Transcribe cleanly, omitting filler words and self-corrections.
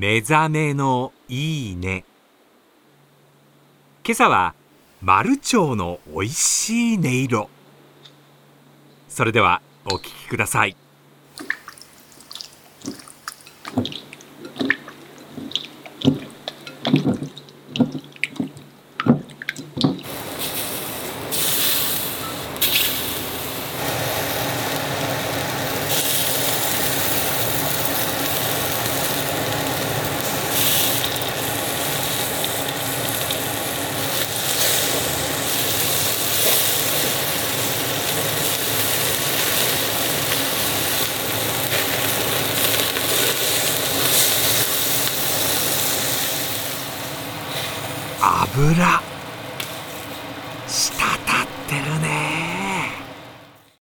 目覚めのいいね。今朝はマルチョウのおいしい音色。それではお聞きください。油。